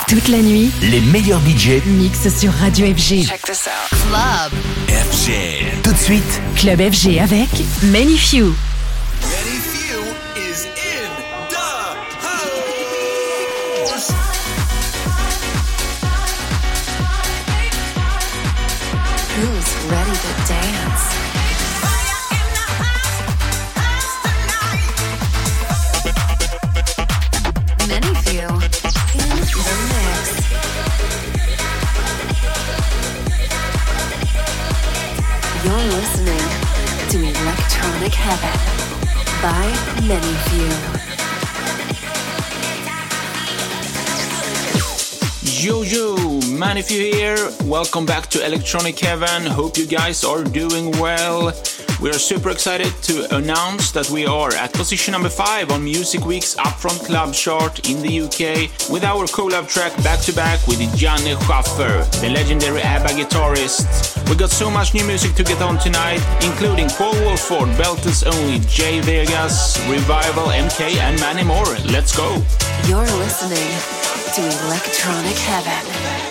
Toute la nuit, les meilleurs budgets mixent sur Radio FG. Check this out. Club FG. Tout de suite, Club FG avec Many Few. Many Few is in the house. Who's ready to dance? Many Few in the mix. You're listening to Electronic Heaven by Many Few. Yo, Many Few here. Welcome back to Electronic Heaven. Hope you guys are doing well. We are super excited to announce that we are at position number 5 on Music Week's Upfront Club chart in the UK with our collab track Back to Back with Janne Schaffer, the legendary ABBA guitarist. We got so much new music to get on tonight, including Paul Wolford, Belters Only, Jay Vegas, Revival, MK, and many more. Let's go. You're listening to Electronic Heaven.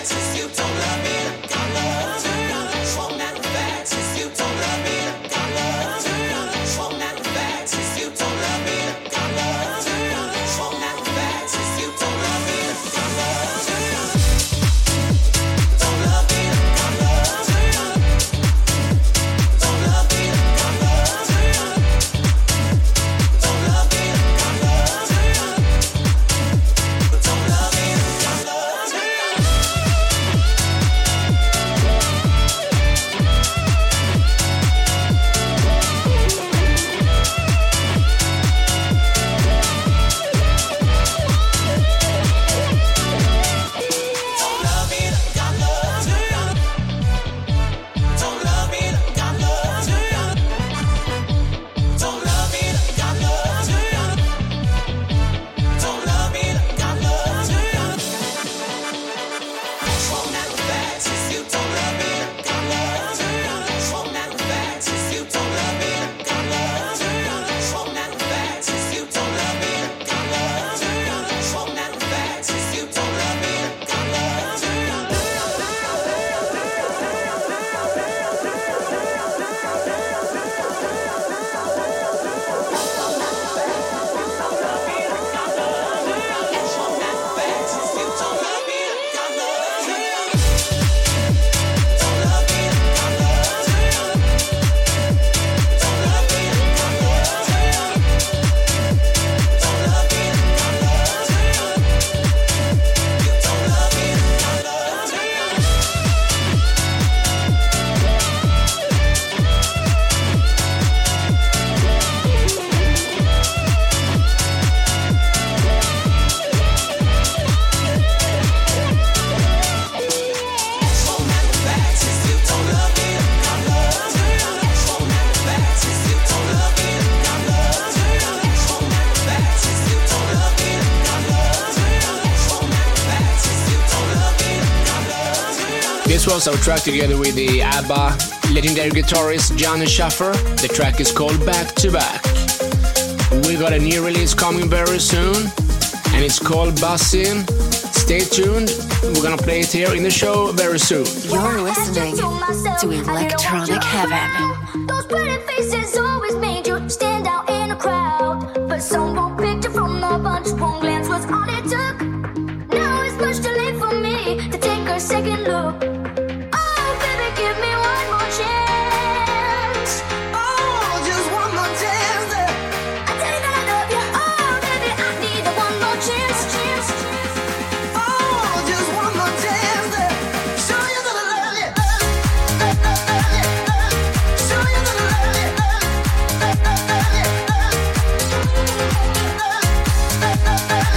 This was our track together with the ABBA legendary guitarist Janne Schaffer. The track is called Back to Back. We got a new release coming very soon, and it's called Bussin'. Stay tuned. We're gonna play it here in the show very soon. You're listening to Electronic Heaven. Those pretty faces always made you stand out in a crowd, but some won't picture from the bunch. One glance was all it took. Now it's much too late for me to take a second look. Oh, baby, give me one more chance. Oh, just one more chance. I tell you that I love you. Oh, baby, I need one more chance. Oh, just one more chance. Show you that I love you. Show you that I love you.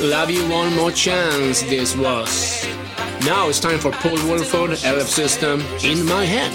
Love You One More Chance, this was. Now it's time for Paul Woolford, LF System, In My Head.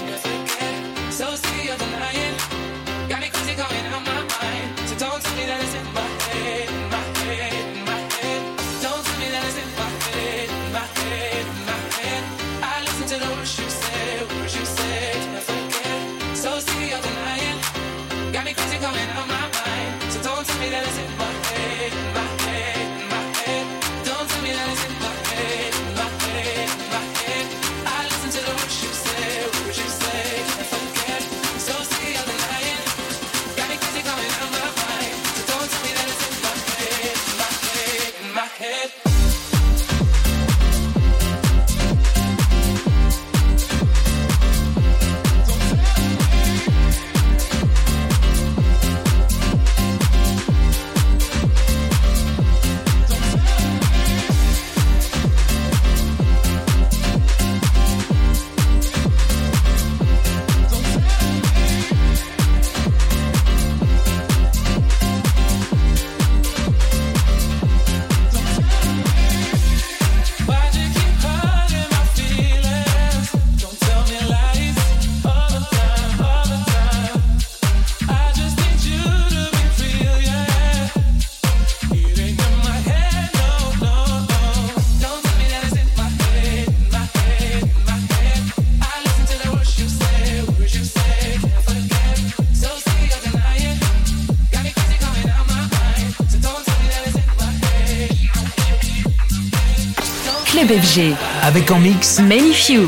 Club FG. Avec en mix Magnifiu.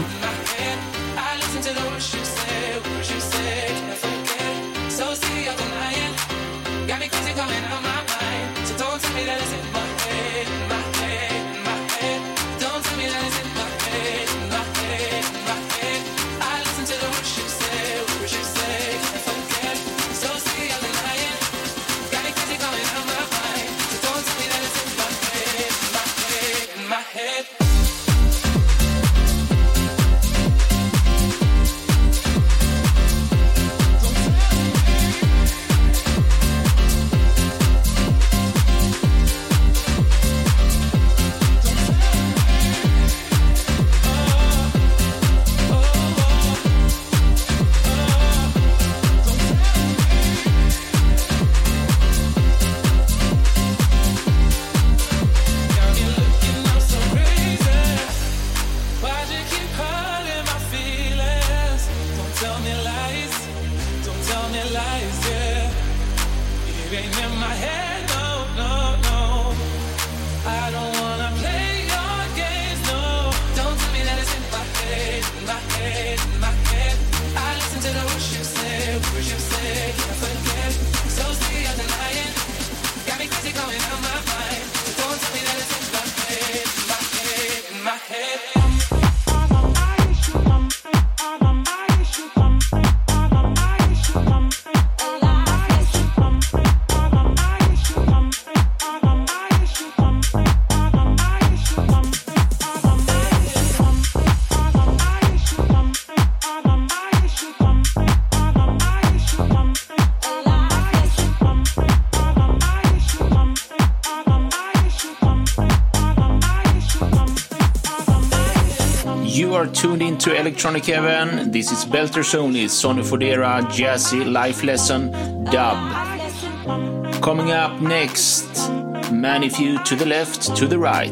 You are tuned into Electronic Heaven. This is Belter Sony, Sonny Fodera, Jazzy, Life Lesson, Dub. Coming up next, Magnifiu to the left, to the right.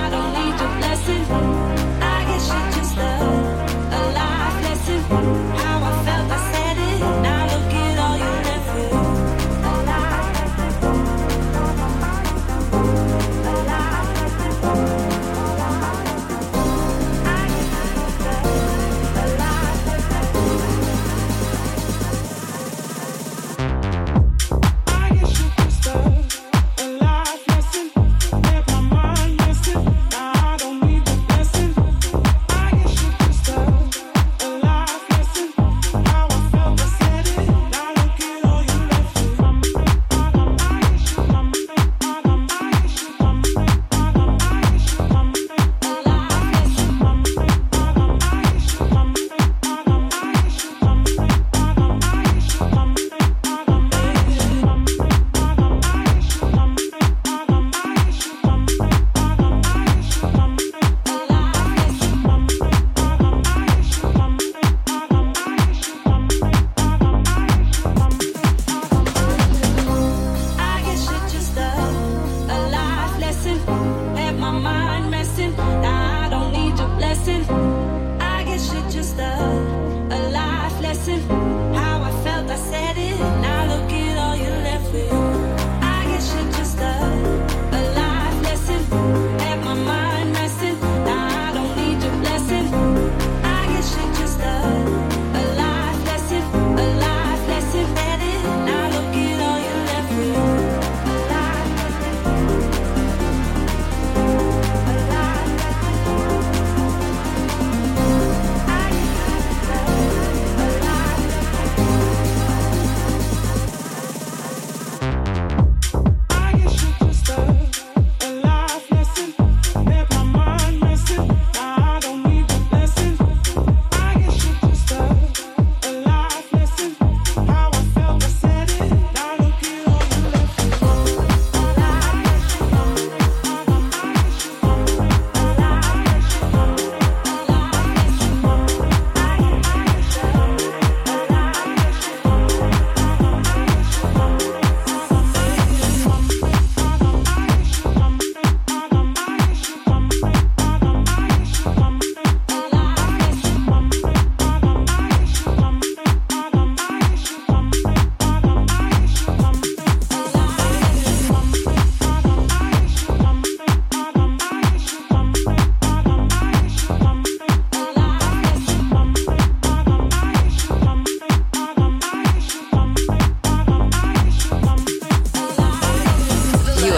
I guess you just a life lesson.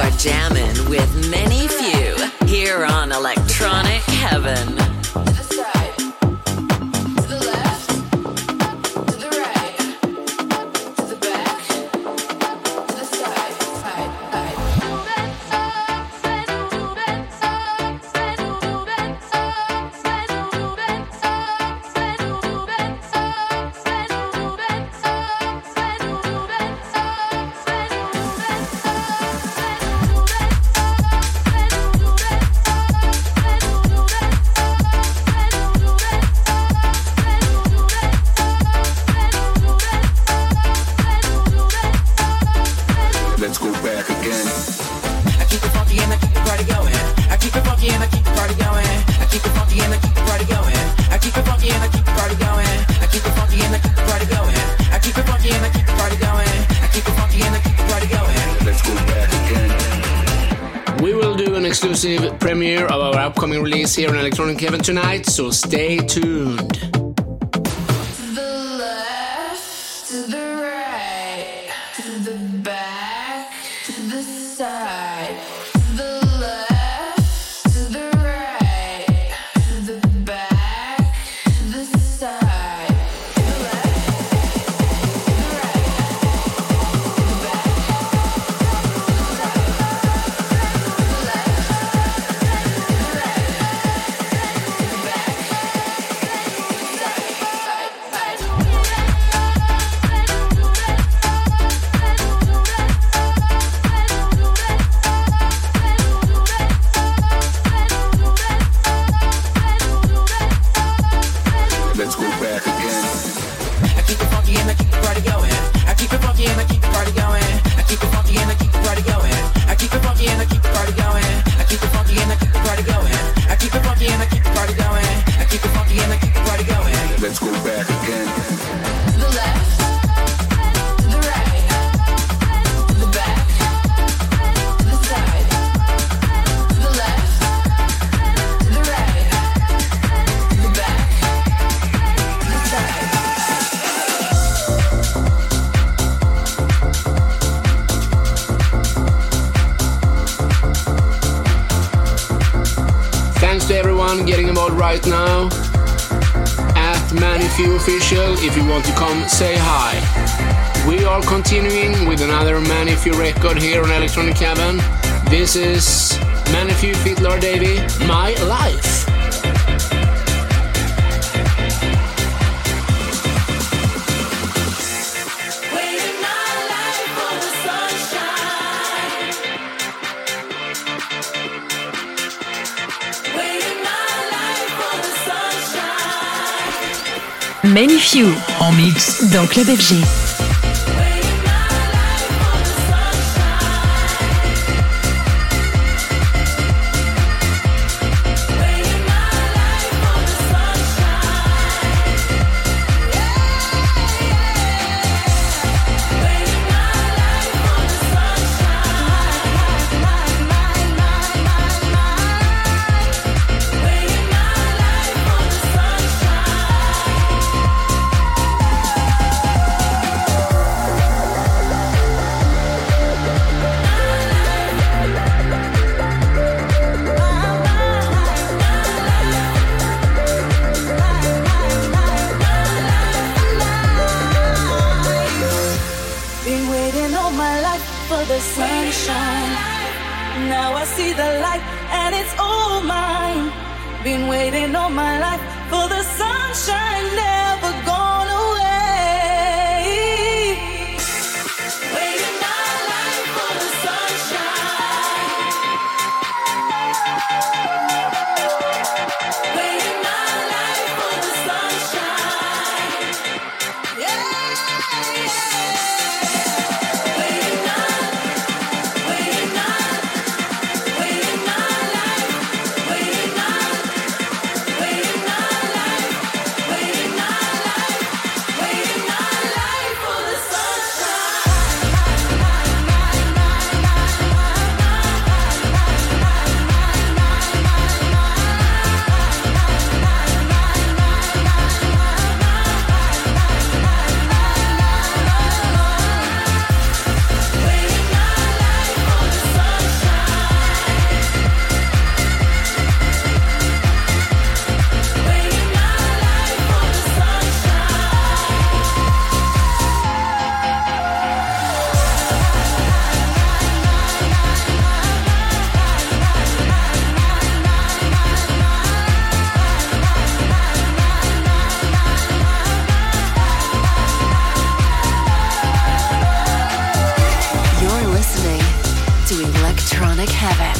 are jamming with Many Few here on Electronic Heaven. Exclusive premiere of our upcoming release here on Electronic Heaven tonight, so stay tuned. To the left, to the right, to the back, to the side. To the left, to the right, to the back, to the side. To the left, to the right, to the back, to the side. To everyone getting involved right now at Many Few Official. If you want to come, say hi. We are continuing with another Many Few record here on Electronic Heaven. This is Many Few feat Lord Davey, My Life. Many Few en mix dans Club FG. Been waiting all my life for the sunshine, never gone away. Waiting my life for the sunshine. Waiting my life for the sunshine. Yeah, Waiting on, waiting on, waiting my life, waiting on. Waiting on life, waiting on. Electronic Heaven.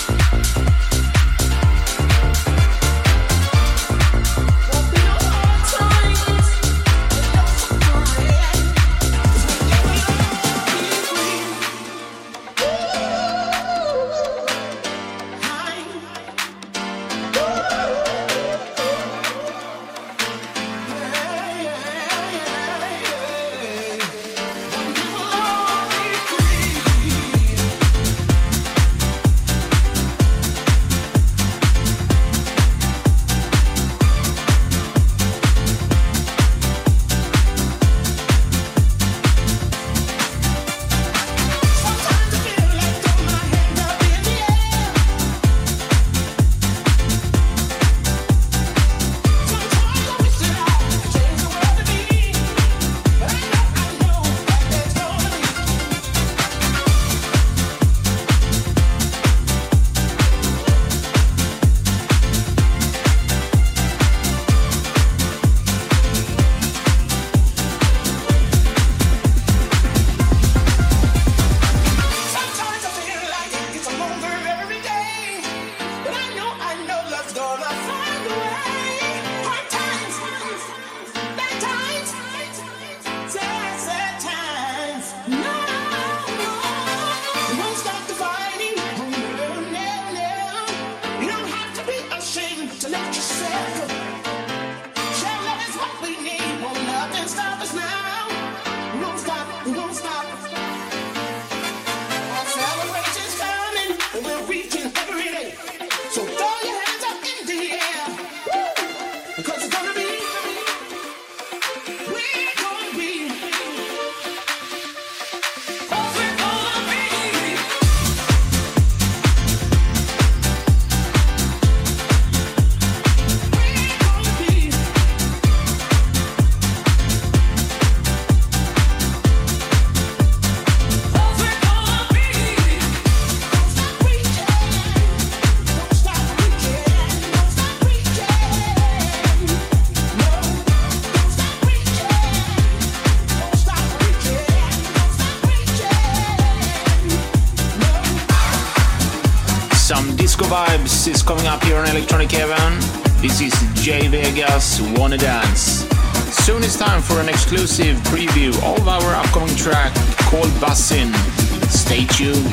Vibes is coming up here on Electronic Heaven. This is Jay Vegas, Wanna Dance. Soon it's time for an exclusive preview of our upcoming track called Bussin'. Stay tuned.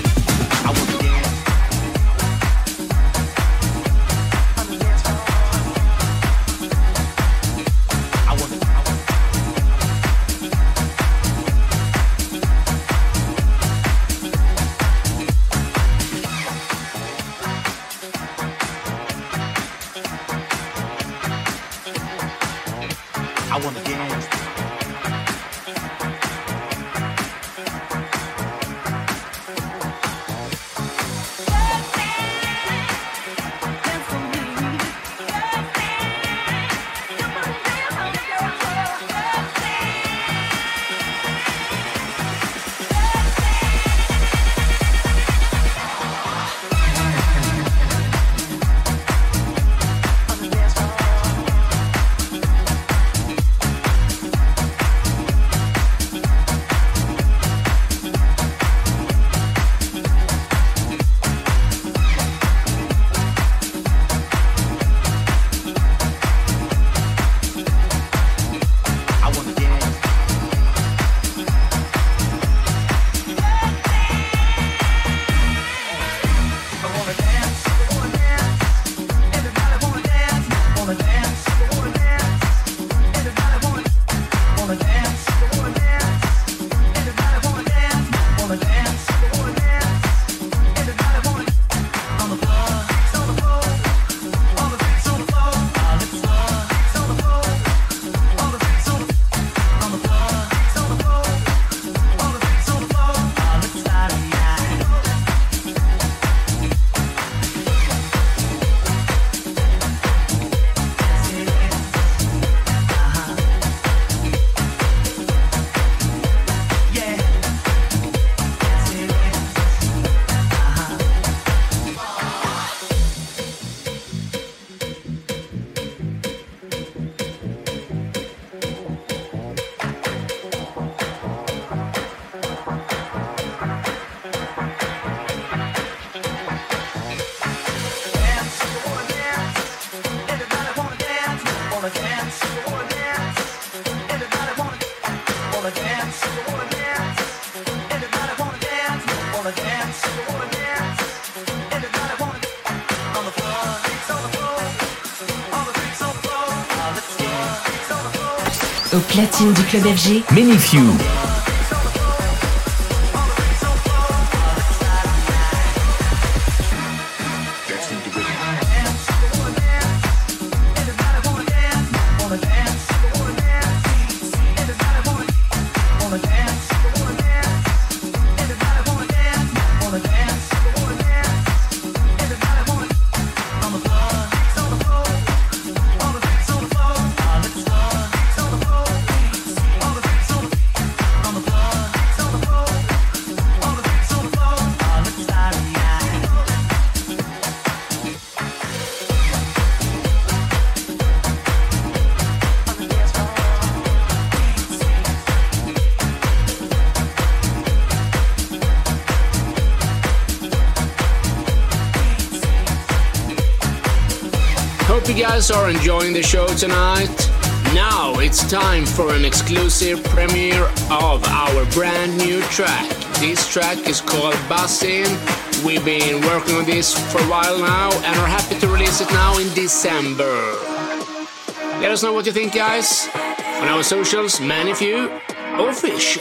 Au platine du club FG, Many Few. Hope you guys are enjoying the show tonight. Now it's time for an exclusive premiere of our brand new track. This track is called Bussin'. We've been working on this for a while now and are happy to release it now in December. Let us know what you think, guys, on our socials, Many Few Official.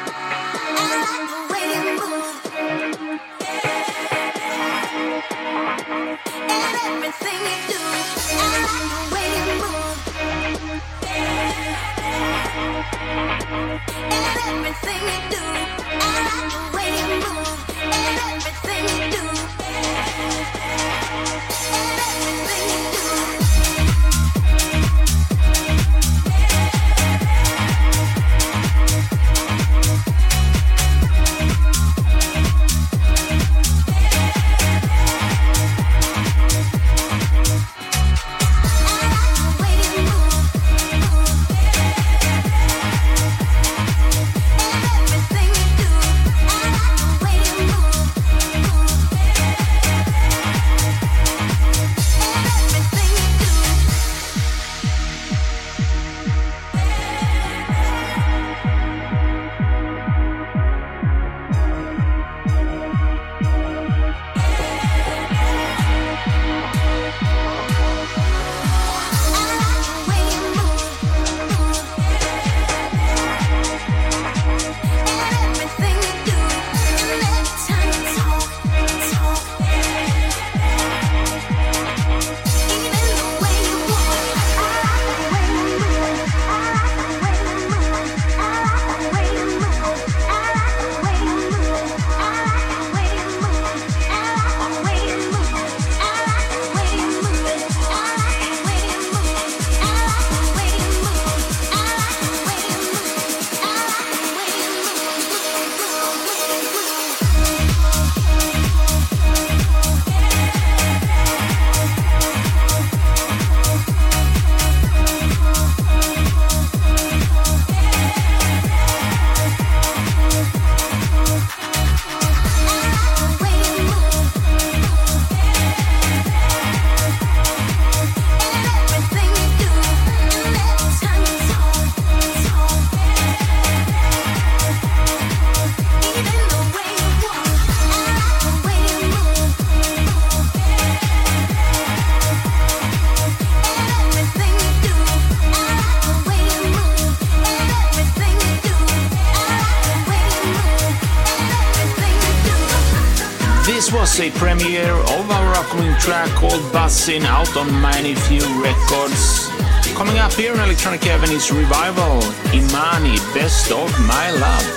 This was a premiere of our upcoming track called Bussin' out on Many Few Records. Coming up here in Electronic Heaven is Revival, Imani, Best of My Love.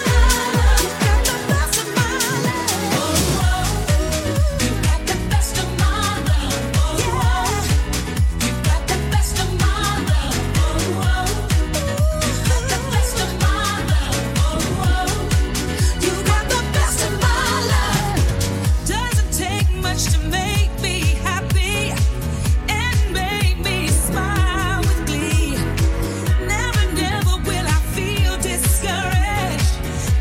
Never will I feel discouraged.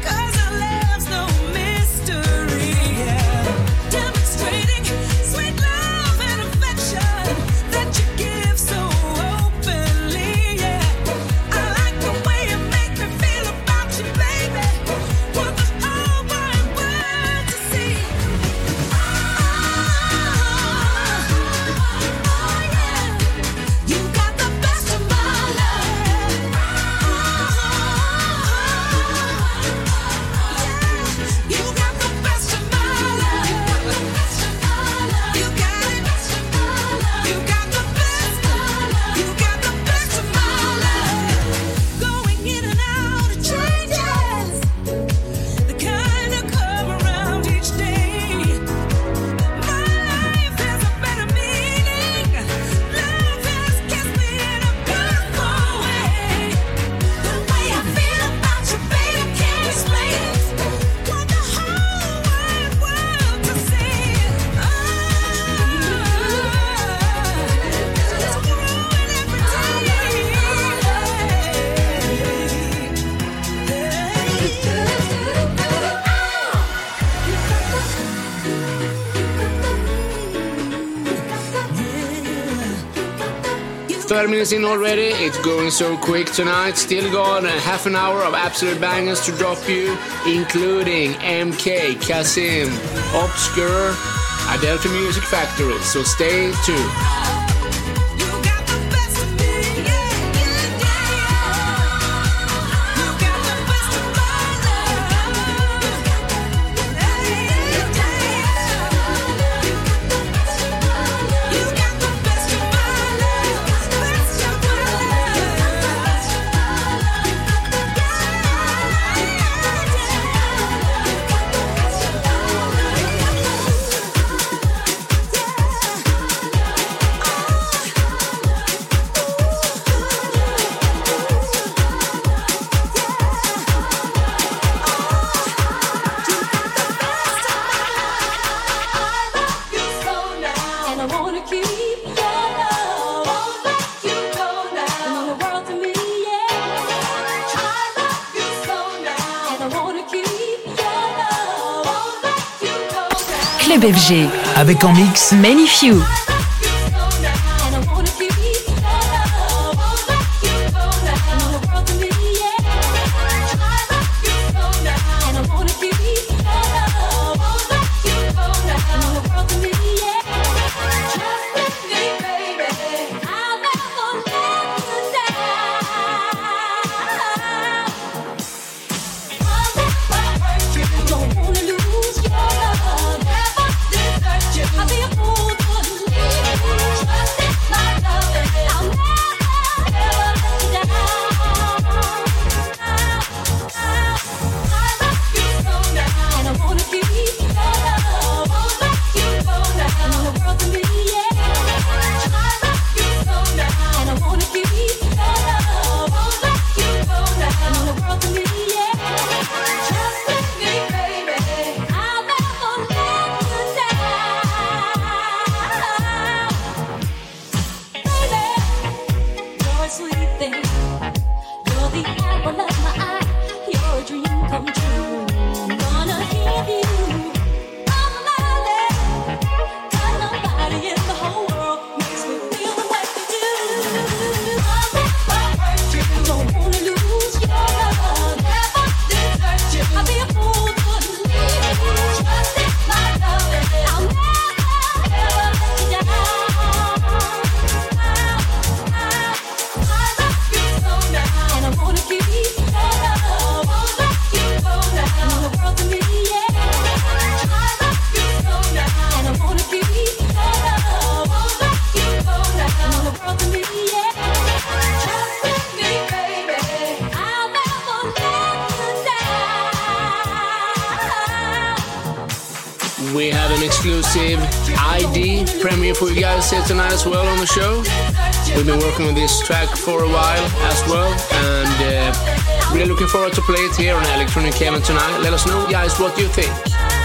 30 minutes in already. It's going so quick tonight. Still got a half an hour of absolute bangers to drop you, including MK, Kasim, Obscure, Adelphi Music Factory. So stay tuned. Club FG. Avec en mix Many Few. We have an exclusive ID premiere for you guys here tonight as well on the show. We've been working on this track for a while as well, and really looking forward to play it here on Electronic Heaven tonight. Let us know, guys, what you think.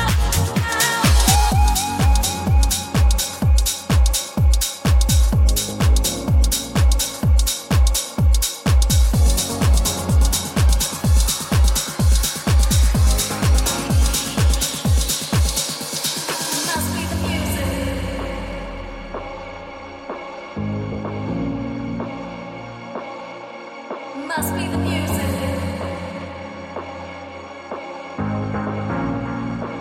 Must be the music.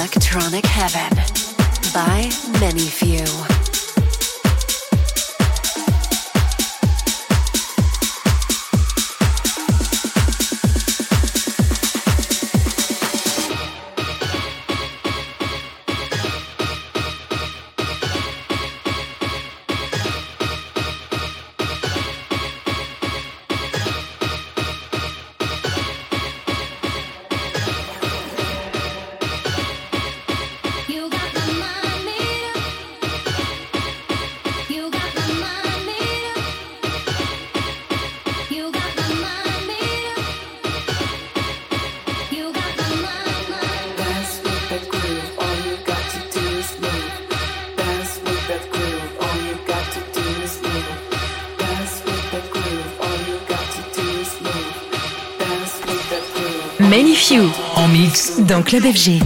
Electronic Heaven by Many Few. Many Few en mix dans Club FG.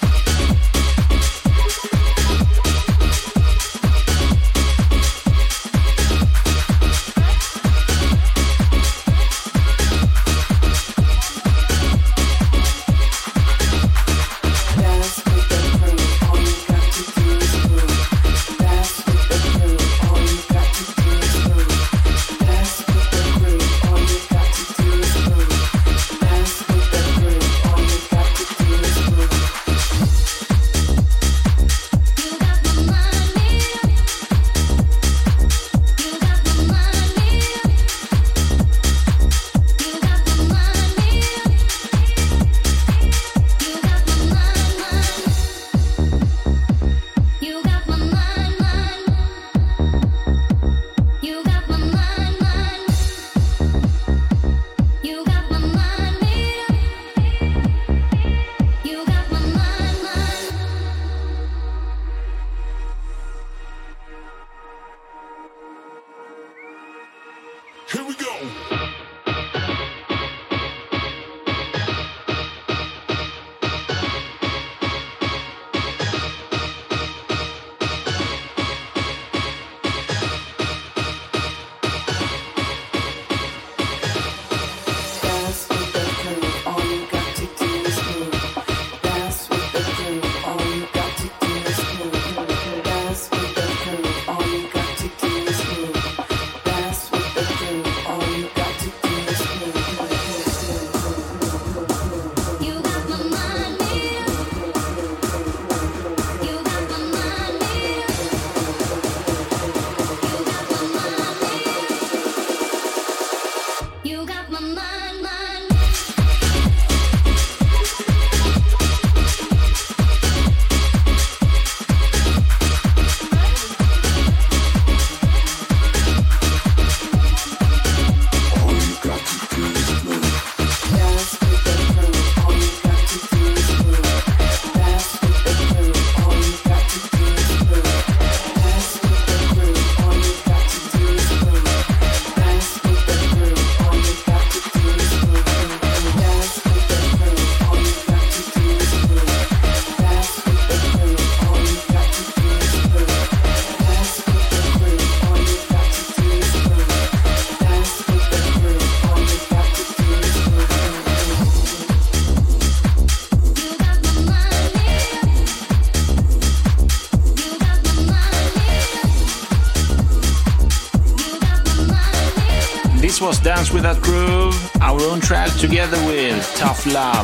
This was Dance With That Groove, our own track together with Tough Love.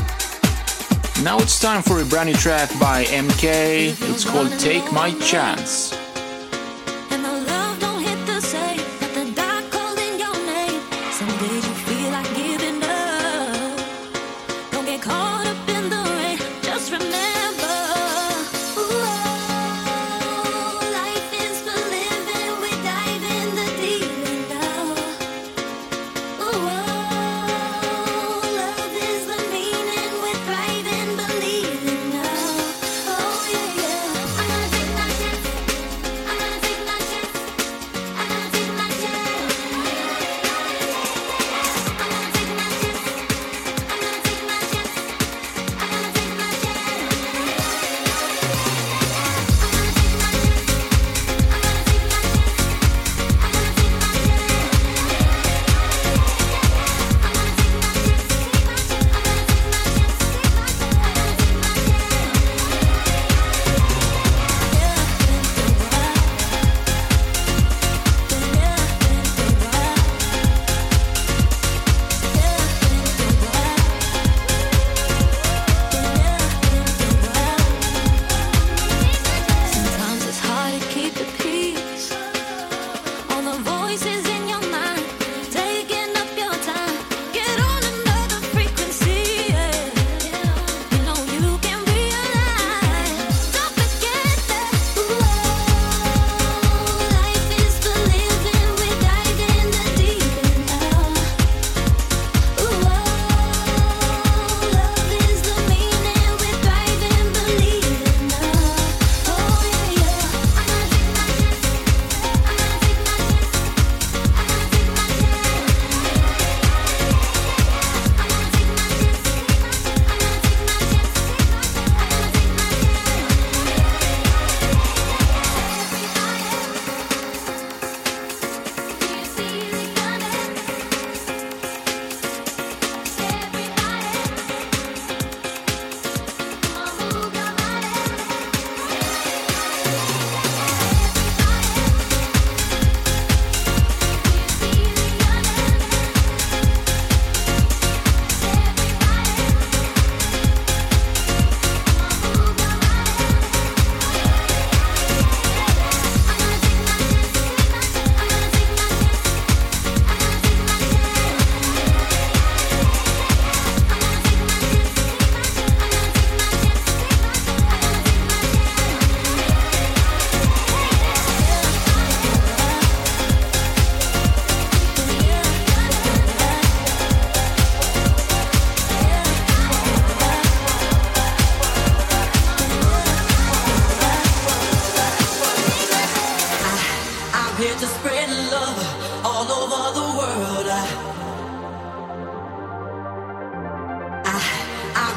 Now it's time for a brand new track by MK. It's called Take My Chance.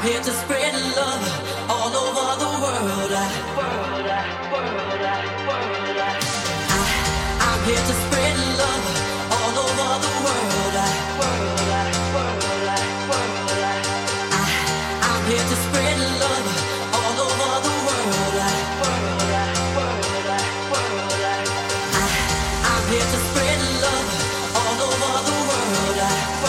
here to spread love all over the world. I'm here to spread love all over the world. I'm here to spread love all over the world. I'm here to spread love all over the world.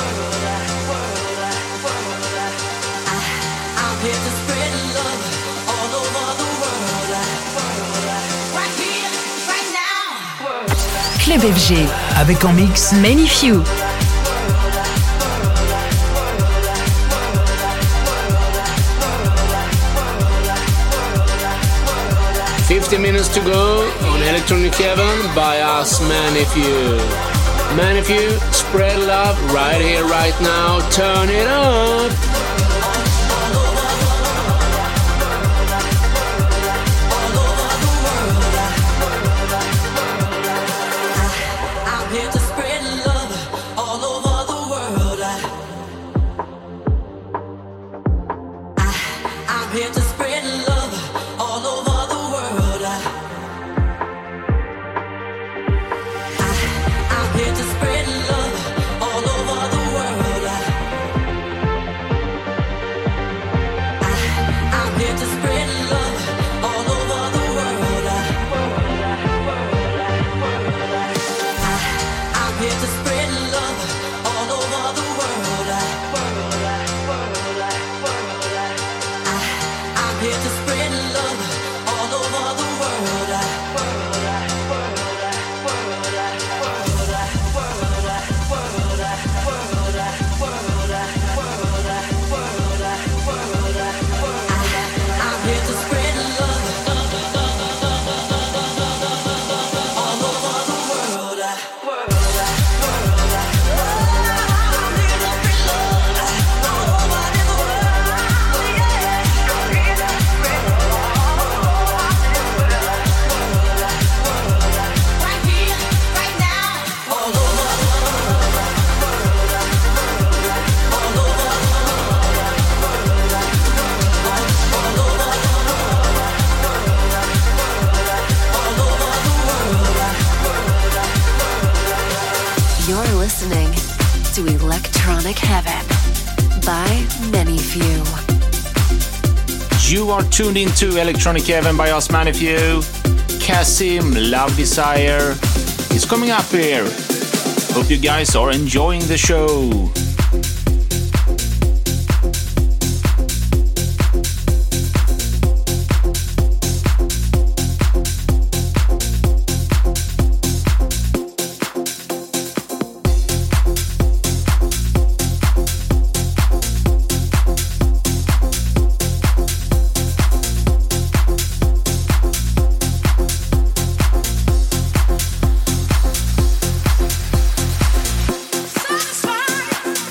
I'm here to spread love all over the world. Right here, right now. Club FG. Avec en mix Magnifique. 50 minutes to go on Electronic Heaven by us, Manifew. Manifew, spread love right here, right now. Turn it up. I'm here to spread love all over the world. I'm here to spread love all over the world. I'm here to spread love all over the world. I'm here to spread love all over the world. I'm here to spread love all over the world. I'm here to spread love all over the world. I'm here to spread love all over the world. Right here, right now, all over, all over, all over the world. You're listening to Electronic Heaven by Manifew. You are tuned into Electronic Heaven by us, Manifew. Kasim, Love Desire is coming up here. Hope you guys are enjoying the show. Satisfied.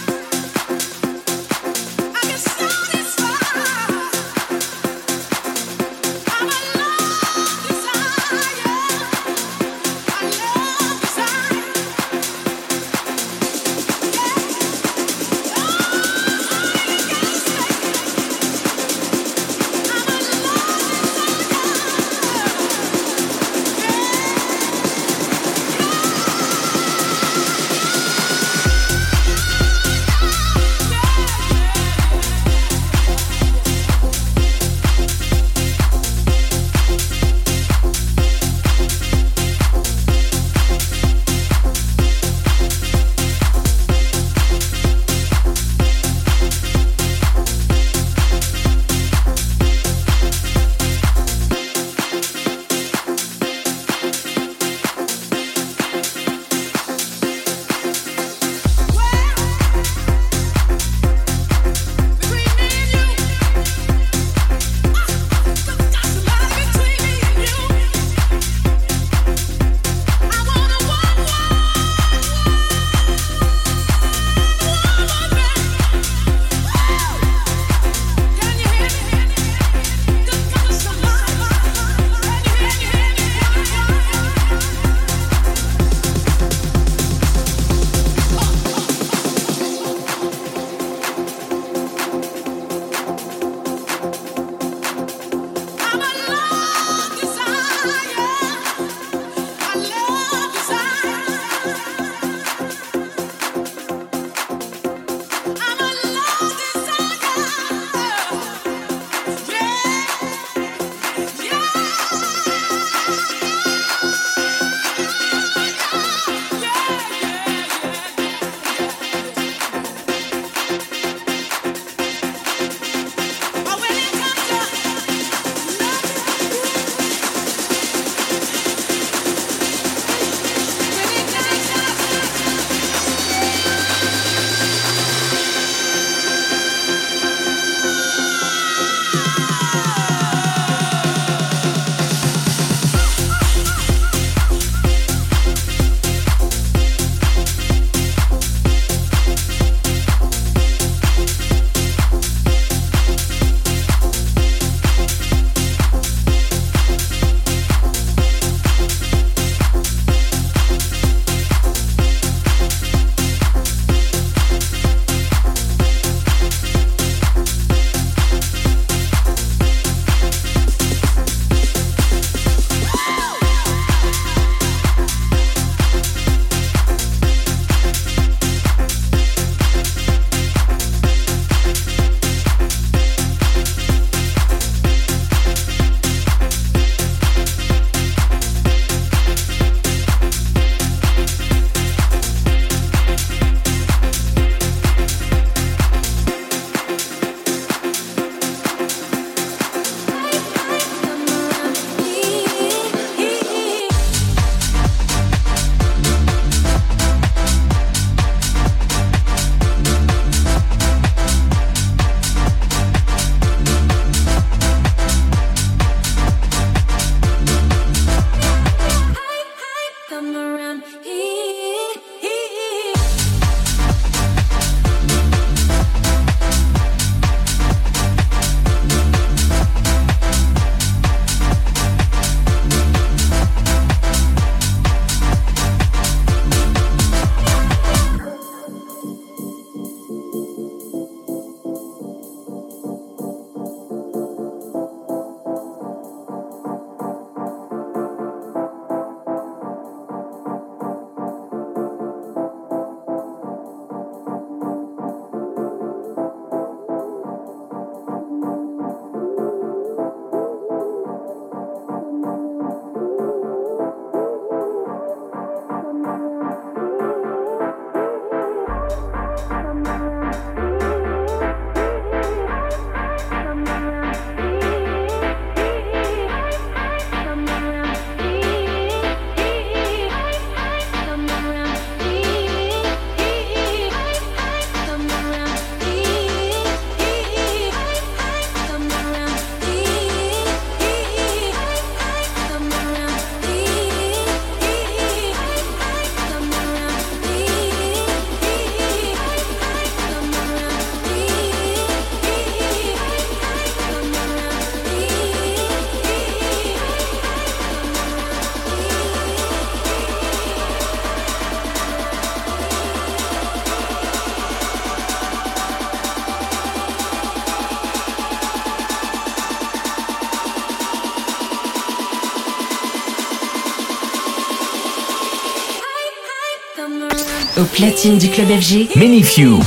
Au platine du club FG, Many Few.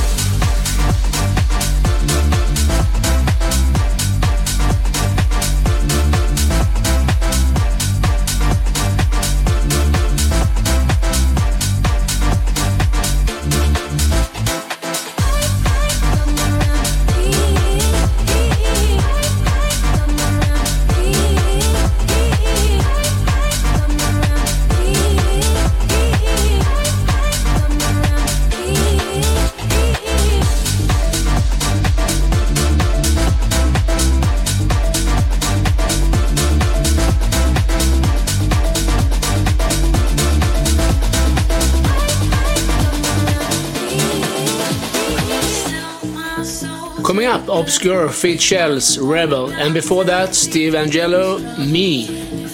Coming up, Obscure, Feet Shells, Rebel, and before that, Steve Angello, Me.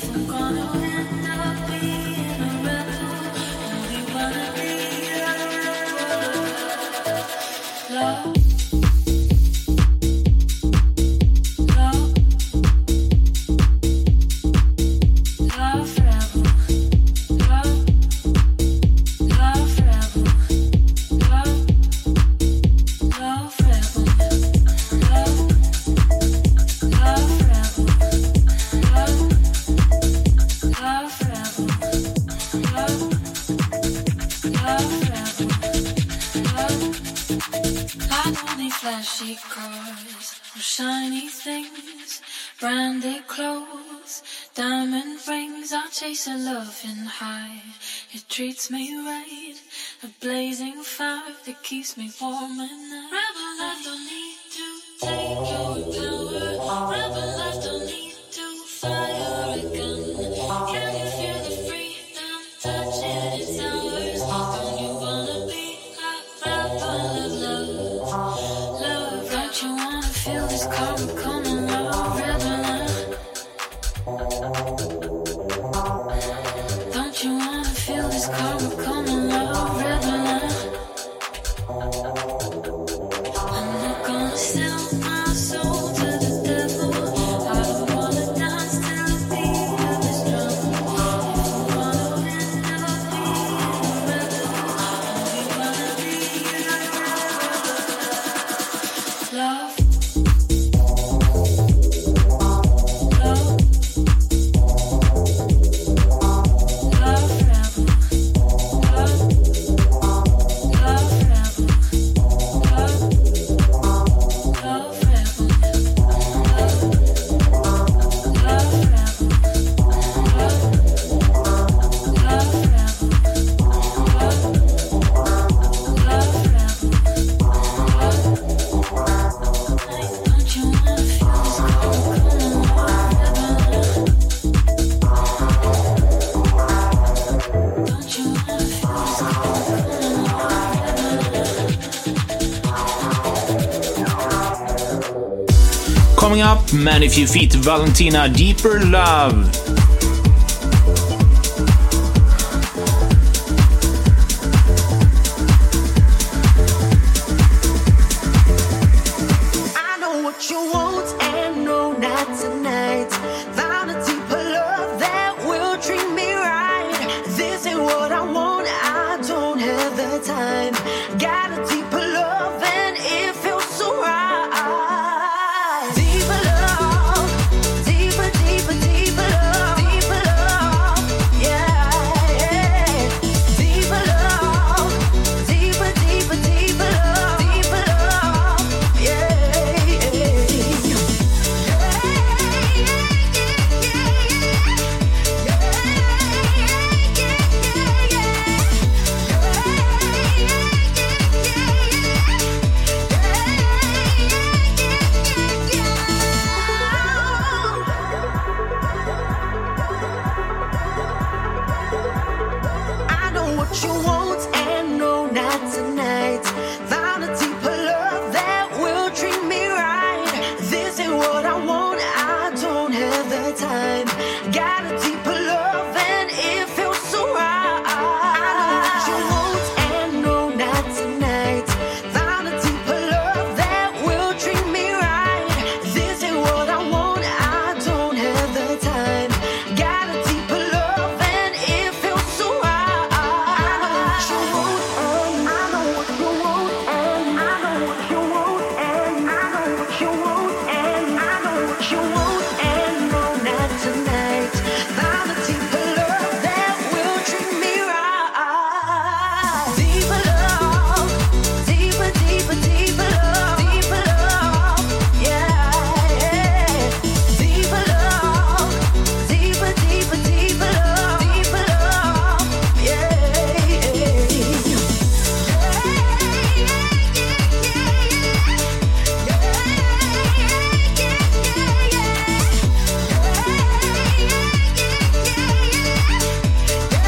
Flashy cars, or shiny things, branded clothes, diamond rings. I chase a loving high. It treats me right. A blazing fire that keeps me warm at night. Rebel life don't need to take your power. Rebel life don't need to fire a gun. Can you feel the freedom touching its hours? Don't you wanna be a rebel of love? Don't you wanna feel this karma coming out, rebel? Don't you wanna feel this karma coming out, rebel? I'm not gonna sell my soul to the devil. I don't wanna dance till the beat of his drum. If you wanna end up being a rebel, don't you wanna be a rebel? Love. Coming up, Many Few Feet, Valentina, Deeper Love. I know what you want and no, not tonight. Found a deeper love that will treat me right. This ain't what I want, I don't have the time. Got a deeper love and it feels so right. Deeper love, deeper, deeper, deeper love.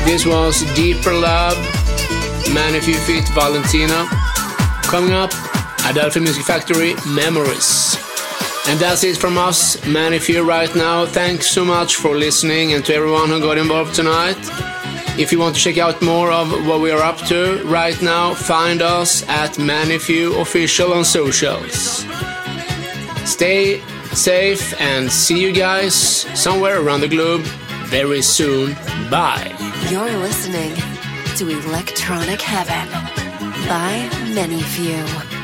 This was Deeper Love, Manifew feat Valentina. Coming up, Adelphi Music Factory, Memories. And that's it from us, Manifew, right now. Thanks so much for listening, and to everyone who got involved tonight. If you want to check out more of what we are up to right now, find us at Manifew Official on socials. Stay safe and see you guys somewhere around the globe very soon. Bye. You're listening to Electronic Heaven by Manifew.